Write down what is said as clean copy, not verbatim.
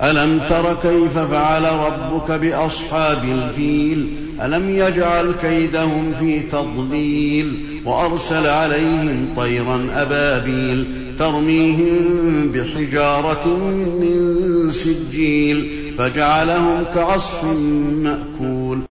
ألم تر كيف فعل ربك بأصحاب الفيل ألم يجعل كيدهم في تضليل وأرسل عليهم طيرا أبابيل ترميهم بحجارة من سجيل فجعلهم كعصف مأكول